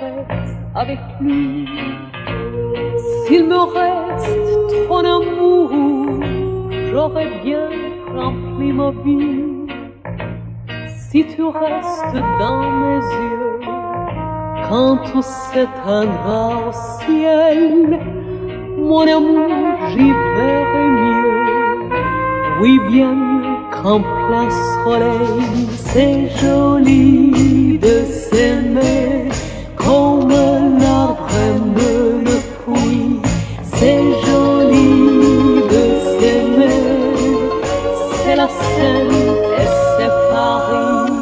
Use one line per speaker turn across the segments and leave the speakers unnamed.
reste avec lui. S'il me reste trop d'amour, j'aurais bien rempli ma vie. Si tu restes dans mes yeux, quand tout s'éteindra au ciel, mon amour, j'y verrai mieux. Oui, bien mieux qu'en plein soleil. C'est joli de s'aimer comme l'arbre aime le fruit. C'est joli de s'aimer, c'est la Seine et c'est Paris.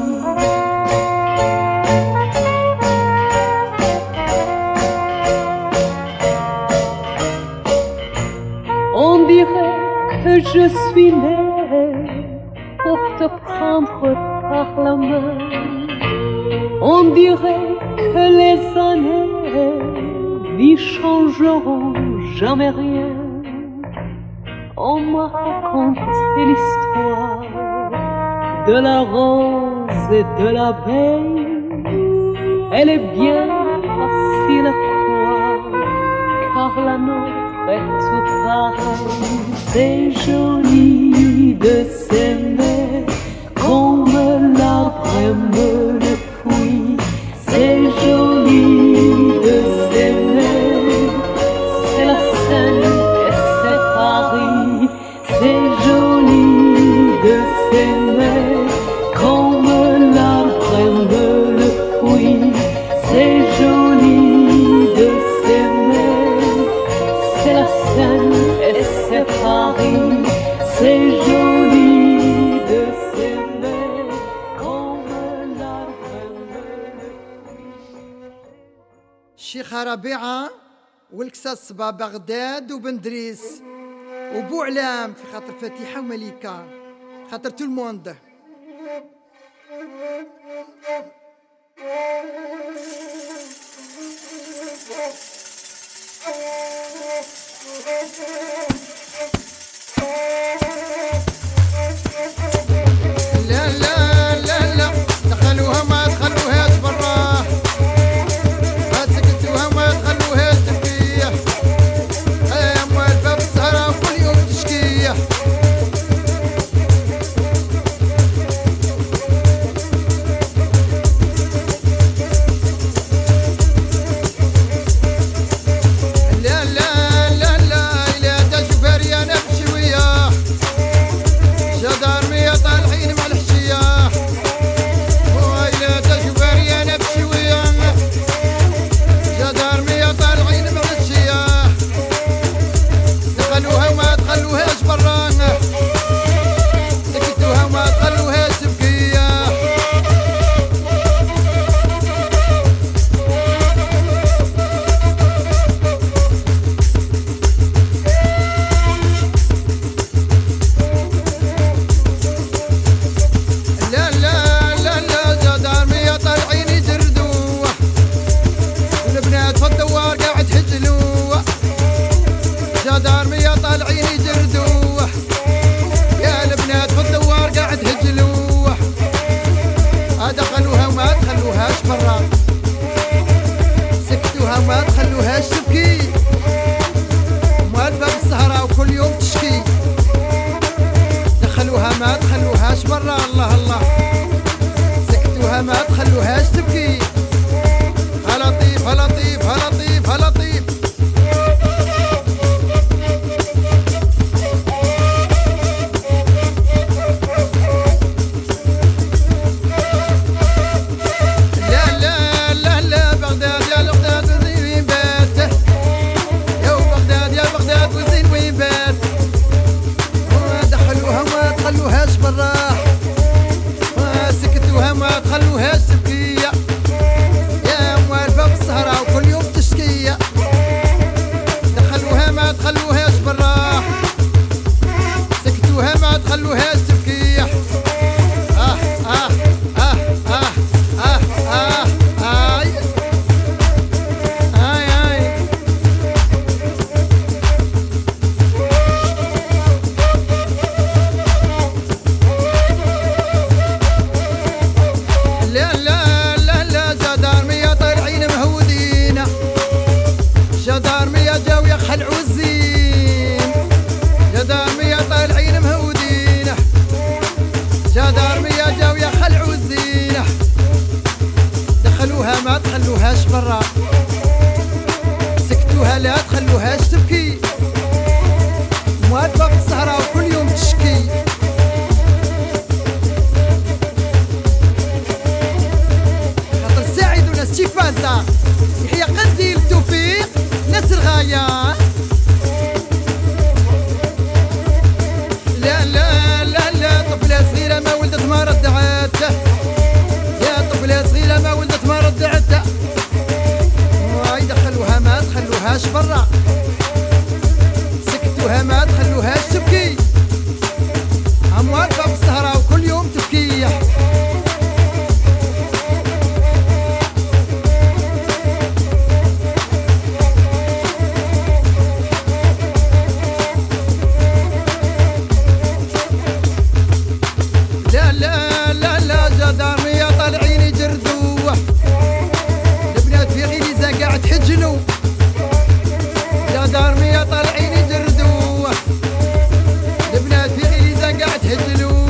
On dirait que je suis née pour te prendre par la main. On dirait que les années n'y changeront jamais rien. On m'a raconté l'histoire de la rose et de l'abeille. Elle est bien facile à croire, car la nôtre est tout pareil. C'est joli de s'aimer comme l'arbre aime le fruit. C'est joli de s'aimer, c'est la Seine et c'est Paris. C'est joli de s'aimer comme l'arbre aime le fruit. C'est joli de s'aimer, c'est la Seine et c'est Paris. C'est joli de s'aimer comme l'arbre aime le fruit.
الشيخ ربيعة والكساس با بغداد وبندريس وبو علام في خاطر فتيحة ومليكة خاطر تو الموند. لا لا لا لا دخلوها ما دخلوهاش برا، ما سكتوها ما دخلوهاش تربية. يا موالفة بالسهرة كل يوم تشكية. لا لا لا لا إلا دا شوفاري أنا بشوية. ويا خلعوا الزين جدارمية طالعين مهودين جدارمية جاو يا خلعوا الزين دخلوها ما تخلوهاش برا سكتوها لا تخلوهاش تبكي موالفة في الصحراء وكل يوم تشكي خاطر ساعد وناس تيفازا يحيى قنديل التوفيق ناس الغاية لا لا لا لا طفلة صغيرة ما ولدت ما ردعت يا طفلة صغيرة ما ولدت ما ردعت واي دخلوها ما تخلوهاش برا سكتوها ما تخلوهاش تبكي عم واقفة في السهرة وكل يوم تبكي لا لا لا لا جدارمية طالعين يجردوه البنات في غليزة قاعد تحجنوا جدارمية طالعين يجردوه البنات في غليزة قاعد تهجلوا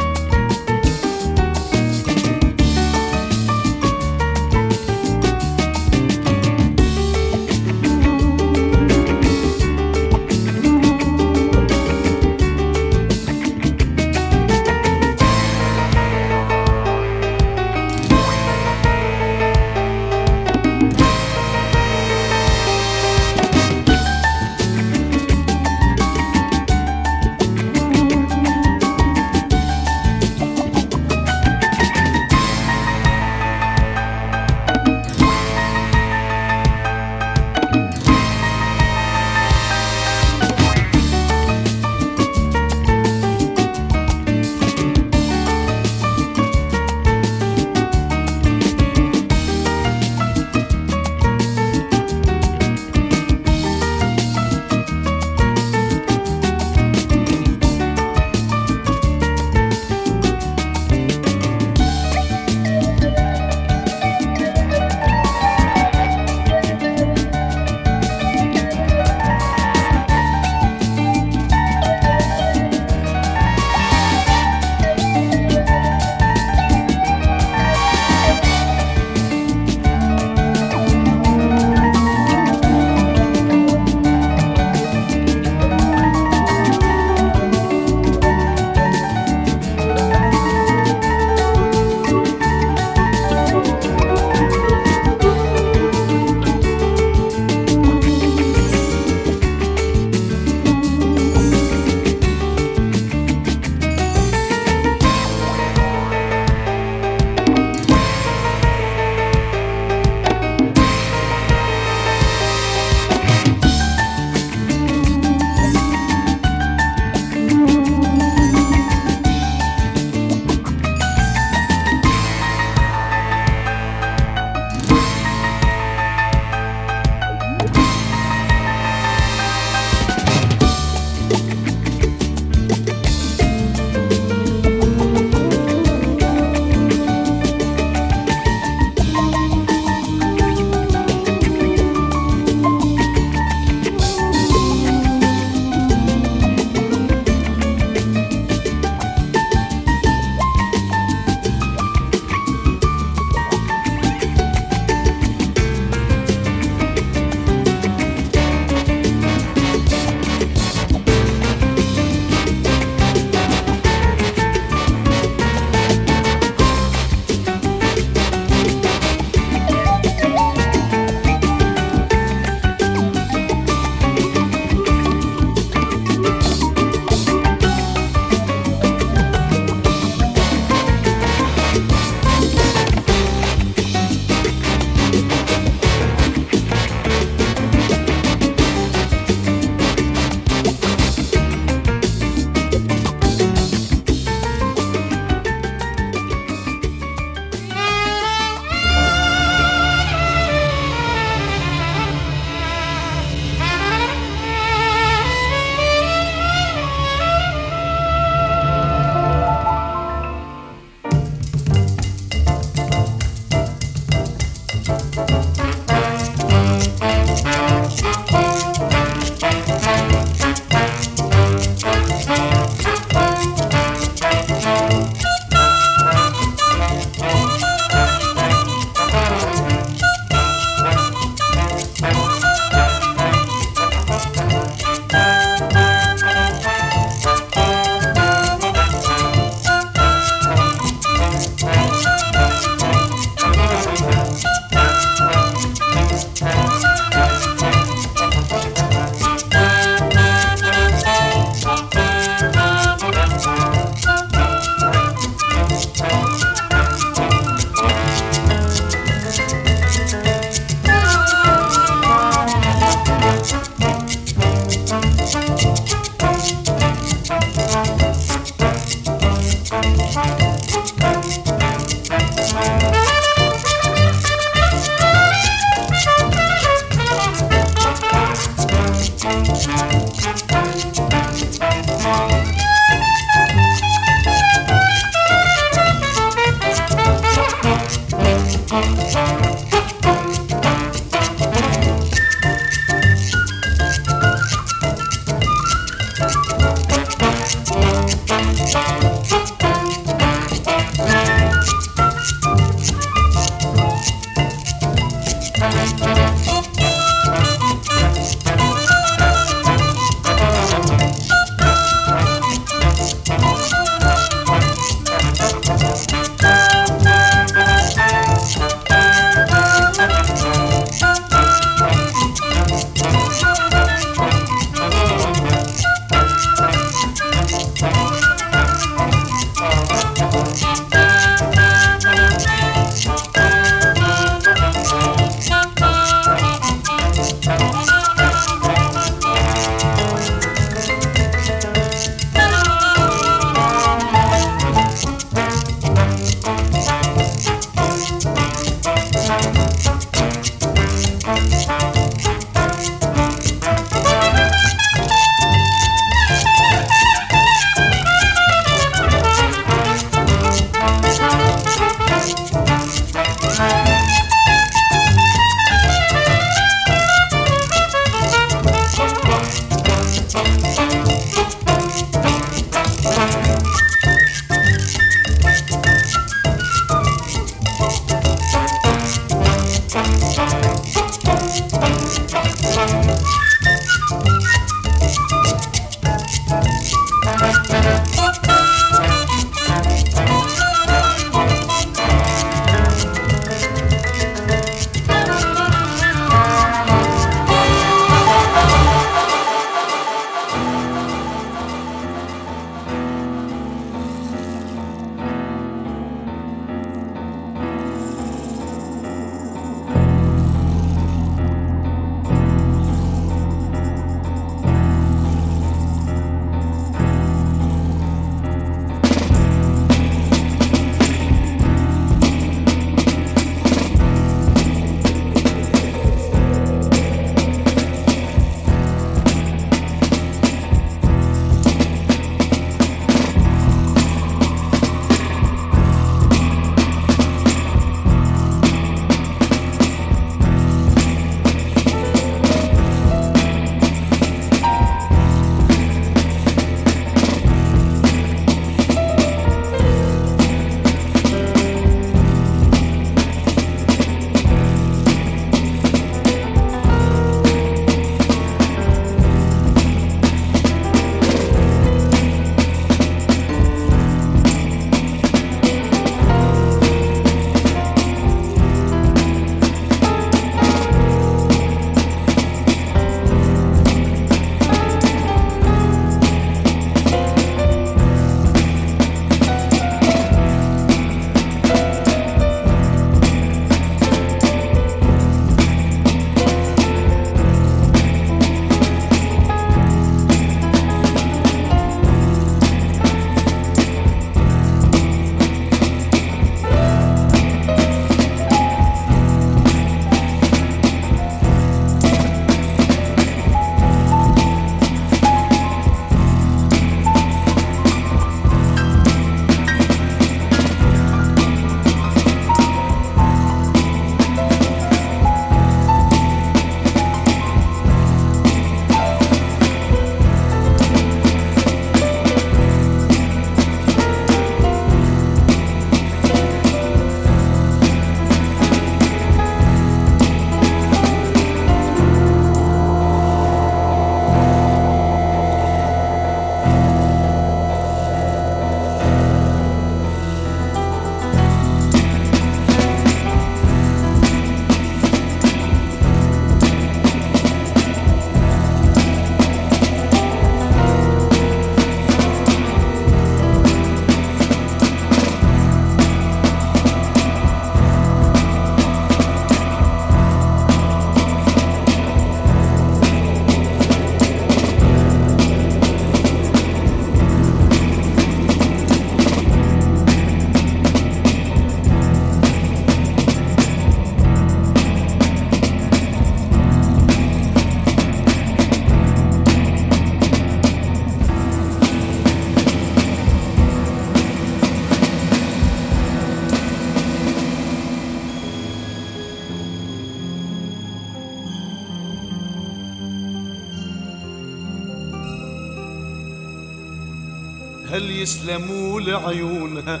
تسأل يسلموا لعيونها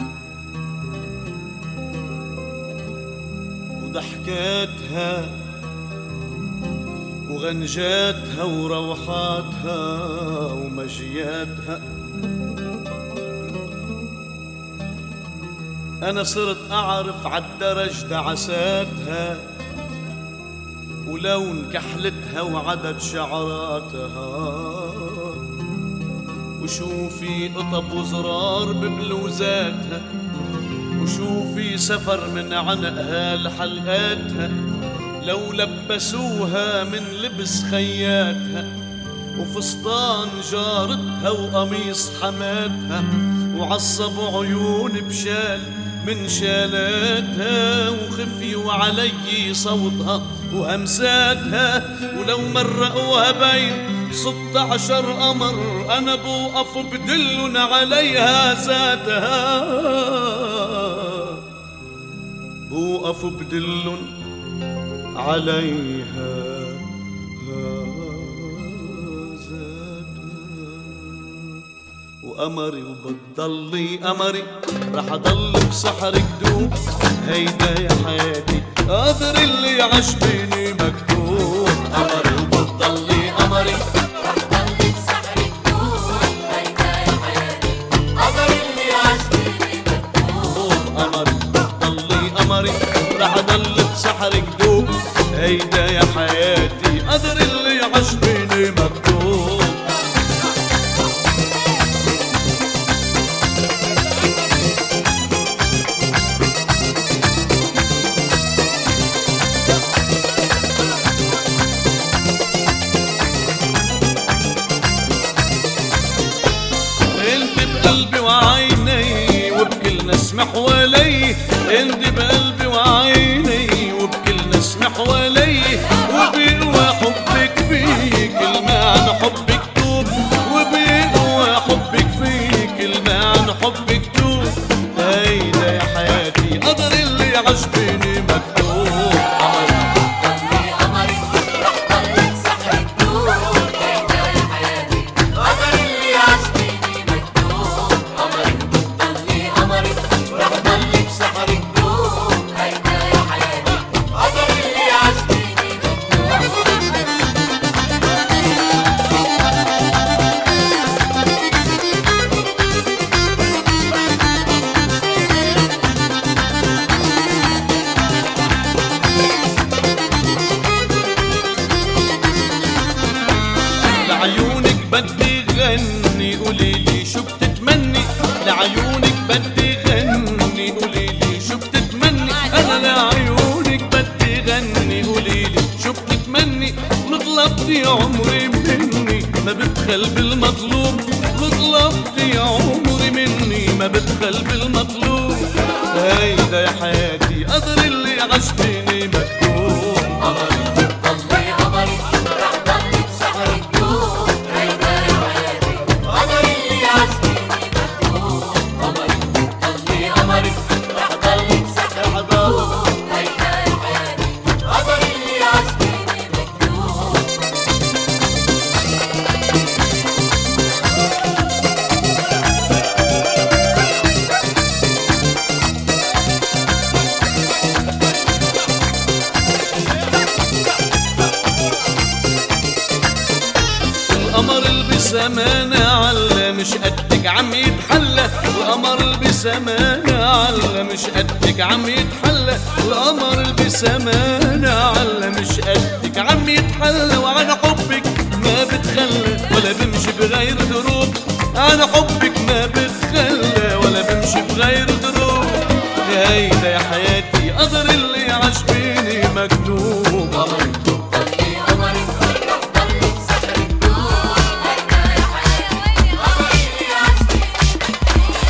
وضحكاتها وغنجاتها وروحاتها ومجياتها. أنا صرت أعرف عالدرج دعساتها ولون كحلتها وعدد شعراتها، وشوفي قطب وزرار ببلوزاتها، وشوفي سفر من عنقها لحلقاتها لو لبسوها من لبس خياتها، وفستان جارتها وقميص حماتها، وعصب عيون بشال من شالاتها، وخفي وعلي صوتها وهمساتها، ولو مرقوها بين 16 قمر أنا بوقف بدلن عليها ذاتها، بوقف بدلن عليها وقمري وبتضلي قمري رح اضل بسحرك دوب. هيدا يا حياتي قدر اللي عشبيني مكتوب. قمري وبتضلي قمري
رح ضل بسحرك دوب. هيدا يا حياتي قدر اللي عشبيني مكتوب.
قمري وبتضلي قمري رح اضل بسحرك دوب. هيدا يا حياتي قدر اللي عشبيني مكتوب. بقلبي وعيني وبكل نسمة حوالي، انت بقلبي وعيني وبكل نسمة حوالي، وبيقوى حبك في كل معنى حبك توب، وبيقوى حبك في كل معنى حبك توب. هيدا يا حياتي قدر اللي عجبني مكتوب.
ضلي قمري رح ضل بسحرك دوب. هيدا يا حياتي قدر اللي عشبيني مكتوب. ضلي قمري رح ضل بسحرك دوب. هيدا يا حياتي قدر اللي عشبيني مكتوب.
لعيونك بدي غني قوليلي شو بتتمني، لعيونك بدي غني قوليلي شو بتتمني، أنا لعيونك بدي غني قوليلي شو بتتمني. وطلبتي عمري مني ما ببخل بالمطلوب، وطلبتي عمري مني ما ببخل بالمطلوب. هيدا يا حياتي قدر اللي عشبيني مكتوب.
ضلي قمري رح ضل بسحرك دوب. هيدا يا حياتي قدر اللي عشبيني مكتوب. ضلي قمري رح ضل بسحرك دوب. هيدا يا حياتي قدر اللي عشبيني مكتوب.
القمر اللي بسمانة على مش قدك عم يتحلى، القمر اللي بسمانة على مش قدك عم يتحلى، القمر اللي بسمانة على مش قدك عم يتحلى. وعن حبك ما بتخلى ولا بمشي بغير دروب، عن حبك ما بتخلى ولا بمشي بغير دروب. هيدا يا حياتي قدر اللي عشبيني مكتوب.
ضلي قمري رح ضل بسحرك دوب. هيدا يا حياتي قدر اللي عشبيني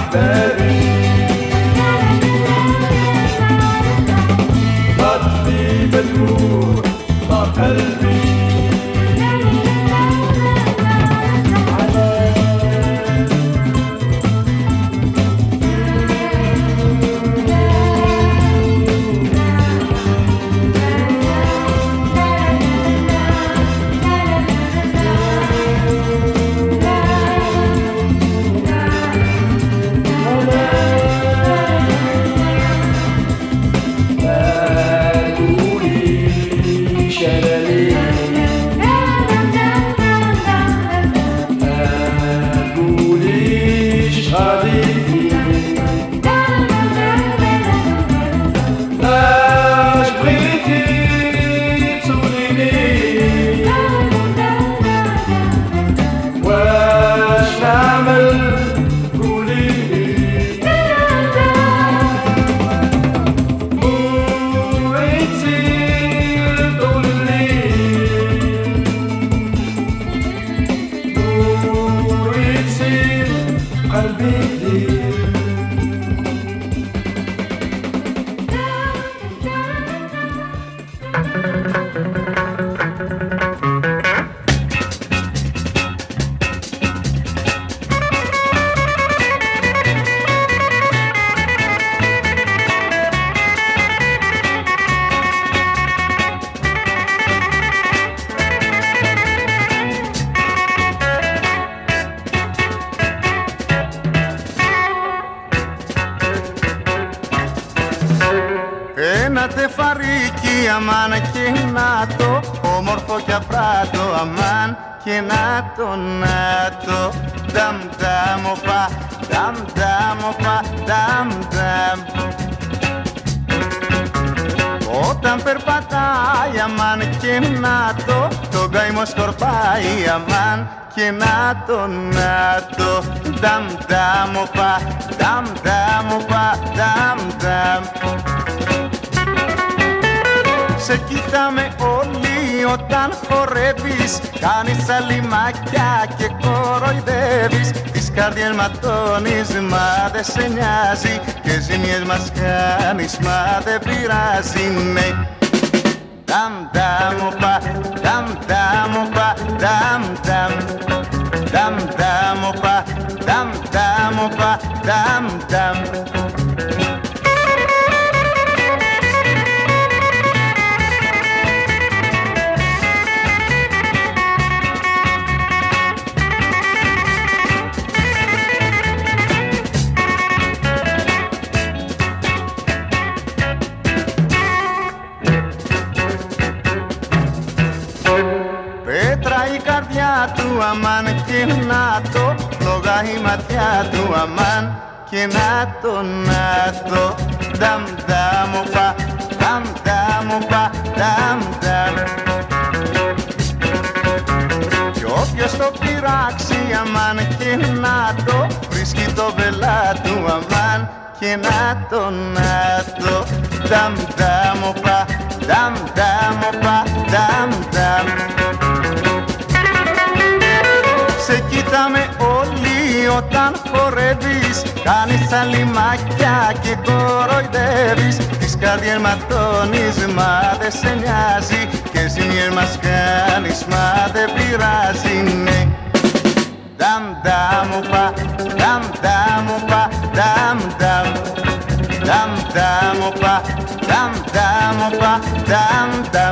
أحبابي لطفي بدموع قلبي
Ένα τεφαρίκι αμάν και να το όμορφο κι απράτο αμάν και να το νταμ νταμ οπα, νταμ νταμ οπα, νταμ νταμ. Όταν περπατάει αμάν και να το καημό σκορπάει αμάν και να το νταμ νταμ οπα, νταμ νταμ οπα, νταμ νταμ. Σε κοιτάμε όλοι όταν χορεύεις, κάνεις αλιμάκια και κοροϊδεύεις. Τις καρδιές ματώνεις, μα δε σε νοιάζει και ζημιές μας κάνεις, μα δε πειράζει, ναι. Νταμ νταμ οπα, νταμ νταμ οπα, νταμ νταμ. Νταμ νταμ οπα, νταμ νταμ οπα, νταμ νταμ. Του αμάν και να το φλόγα η ματιά του αμάν και να το νταμ νταμ οπα, νταμ νταμ οπα, νταμ νταμ. Κι όποιος το πειράξει αμάν και να το βρίσκει το βελά του αμάν και να το νταμ νταμ οπα, νταμ νταμ οπα, νταμ νταμ. Σε κοιτάμε όλοι όταν χορεύεις, κάνεις αλιμάκια και κοροϊδεύεις. Τις καρδιές ματώνεις, μα δε σε νοιάζει και ζημιές μας κάνεις, μα δε πειράζει, ναι. Νταμ νταμ οπα, νταμ νταμ οπα, νταμ νταμ. Νταμ νταμ οπα, νταμ νταμ οπα, νταμ νταμ.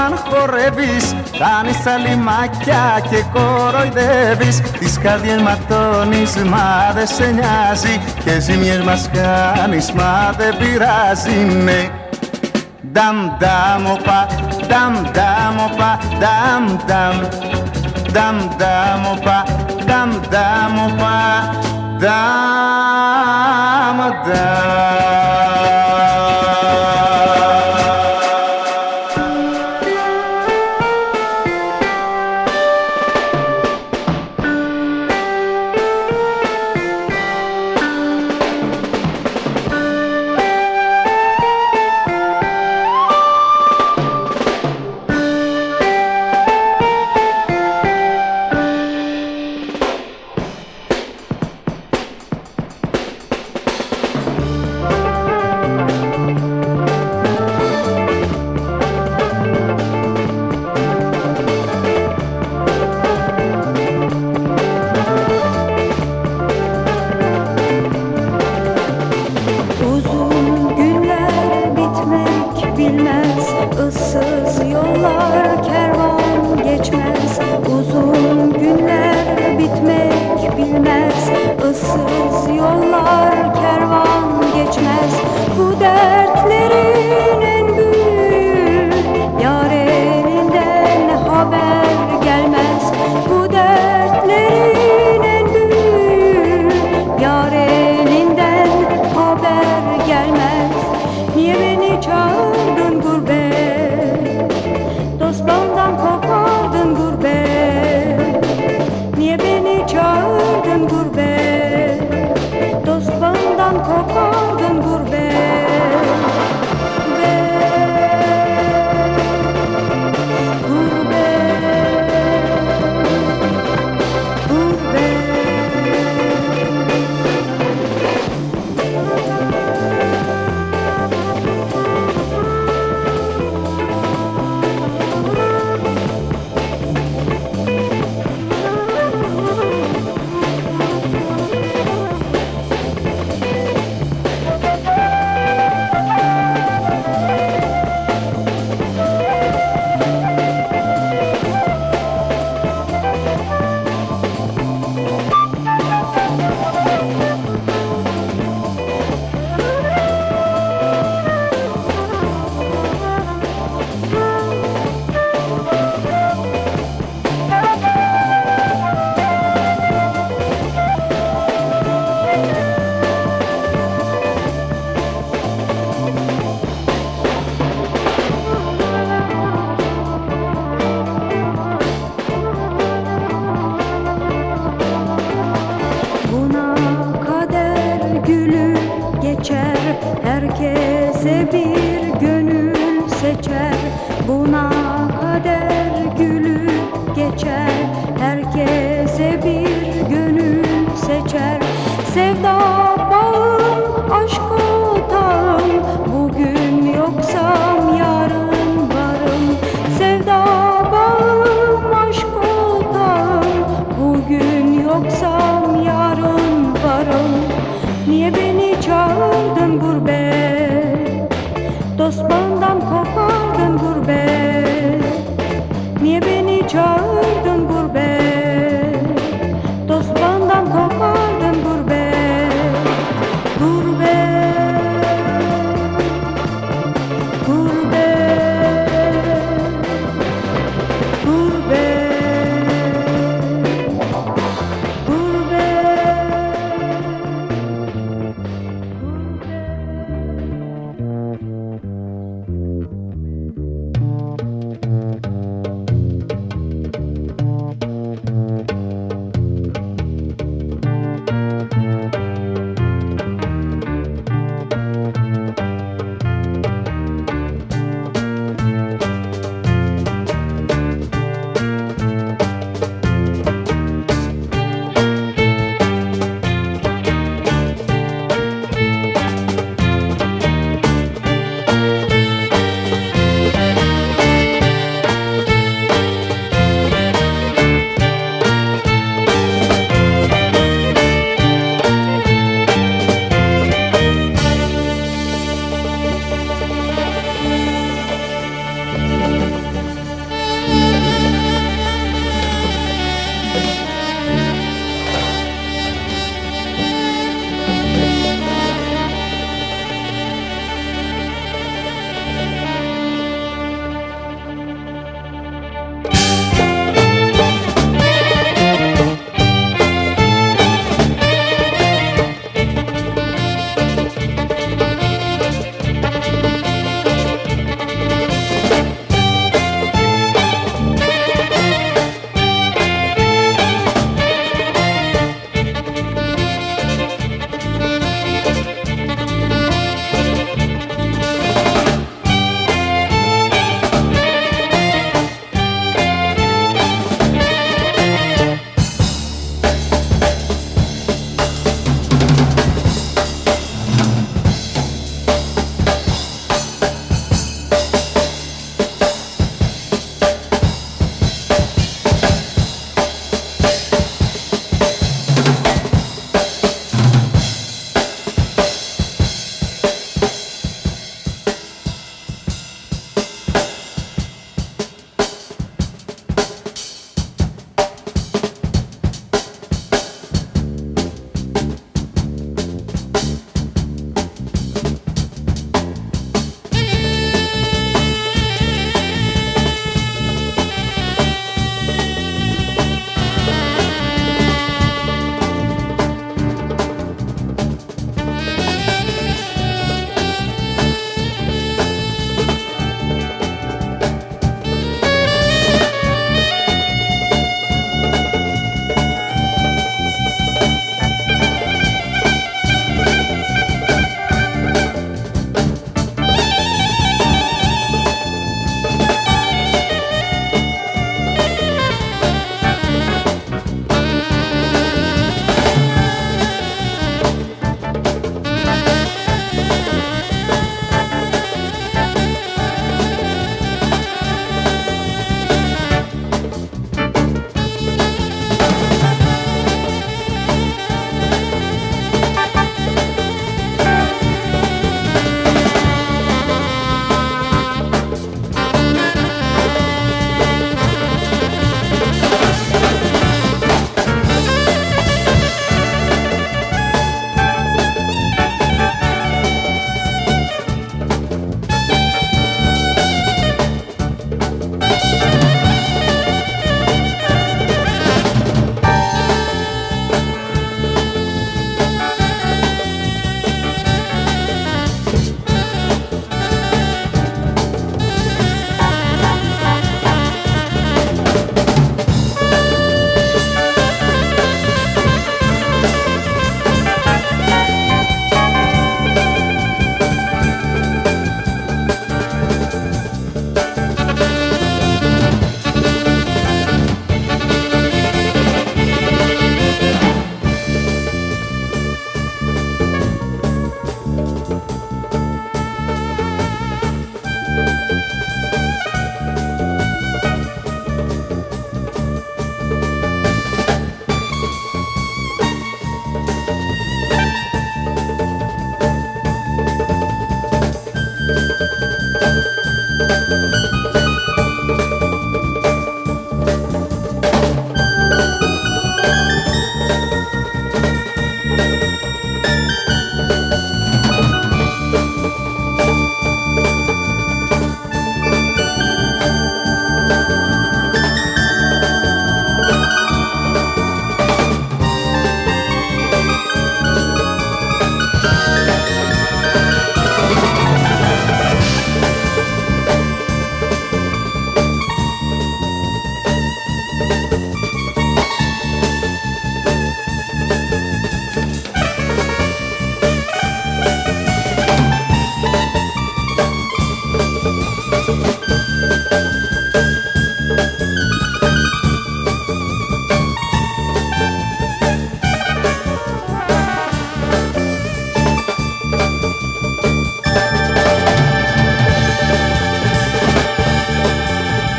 όταν χορεύεις, κάνεις αλιμάκια και κοροϊδεύεις. Τις καρδιές ματώνεις, μα δεν σε νοιάζει, και ζημιές μας κάνεις, μα δεν πειράζει, ναι. Dam dam opa, dam dam opa, dam dam, dam dam opa, dam dam opa, dam dam.
Kopardın gurbet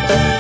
Thank